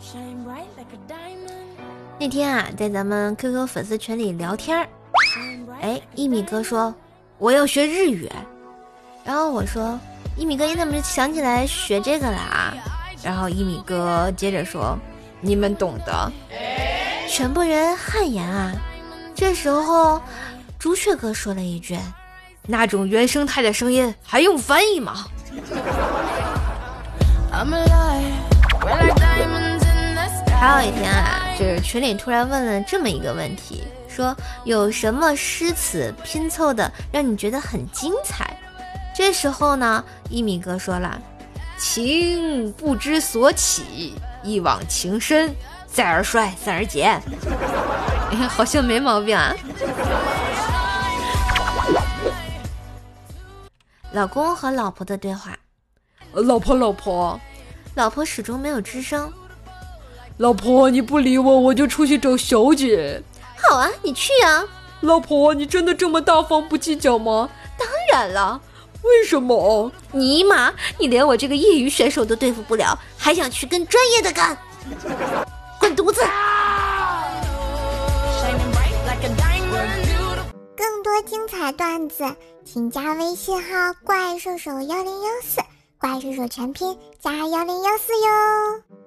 那天啊，在咱们 QQ 粉丝群里聊天儿，一米哥说我要学日语，然后我说一米哥你怎么想起来学这个了啊？然后一米哥接着说你们懂的。全部人汗颜啊。这时候朱雀哥说了一句，那种原生态的声音还用翻译吗？还有一天啊，就是群里突然问了这么一个问题，说有什么诗词拼凑的让你觉得很精彩？这时候呢，一米哥说了，情不知所起，一往情深，再而衰，三而竭。好像没毛病啊。老公和老婆的对话，老婆始终没有吱声。 老婆，你不理我，我就出去找小姐。 好啊，你去啊。 老婆，你真的这么大方不计较吗？ 当然了。 为什么？ 尼玛，你连我这个业余选手都对付不了，还想去跟专业的干？滚犊子！ 更多精彩段子，请加微信号怪兽手1014，怪兽手全拼加1014哟。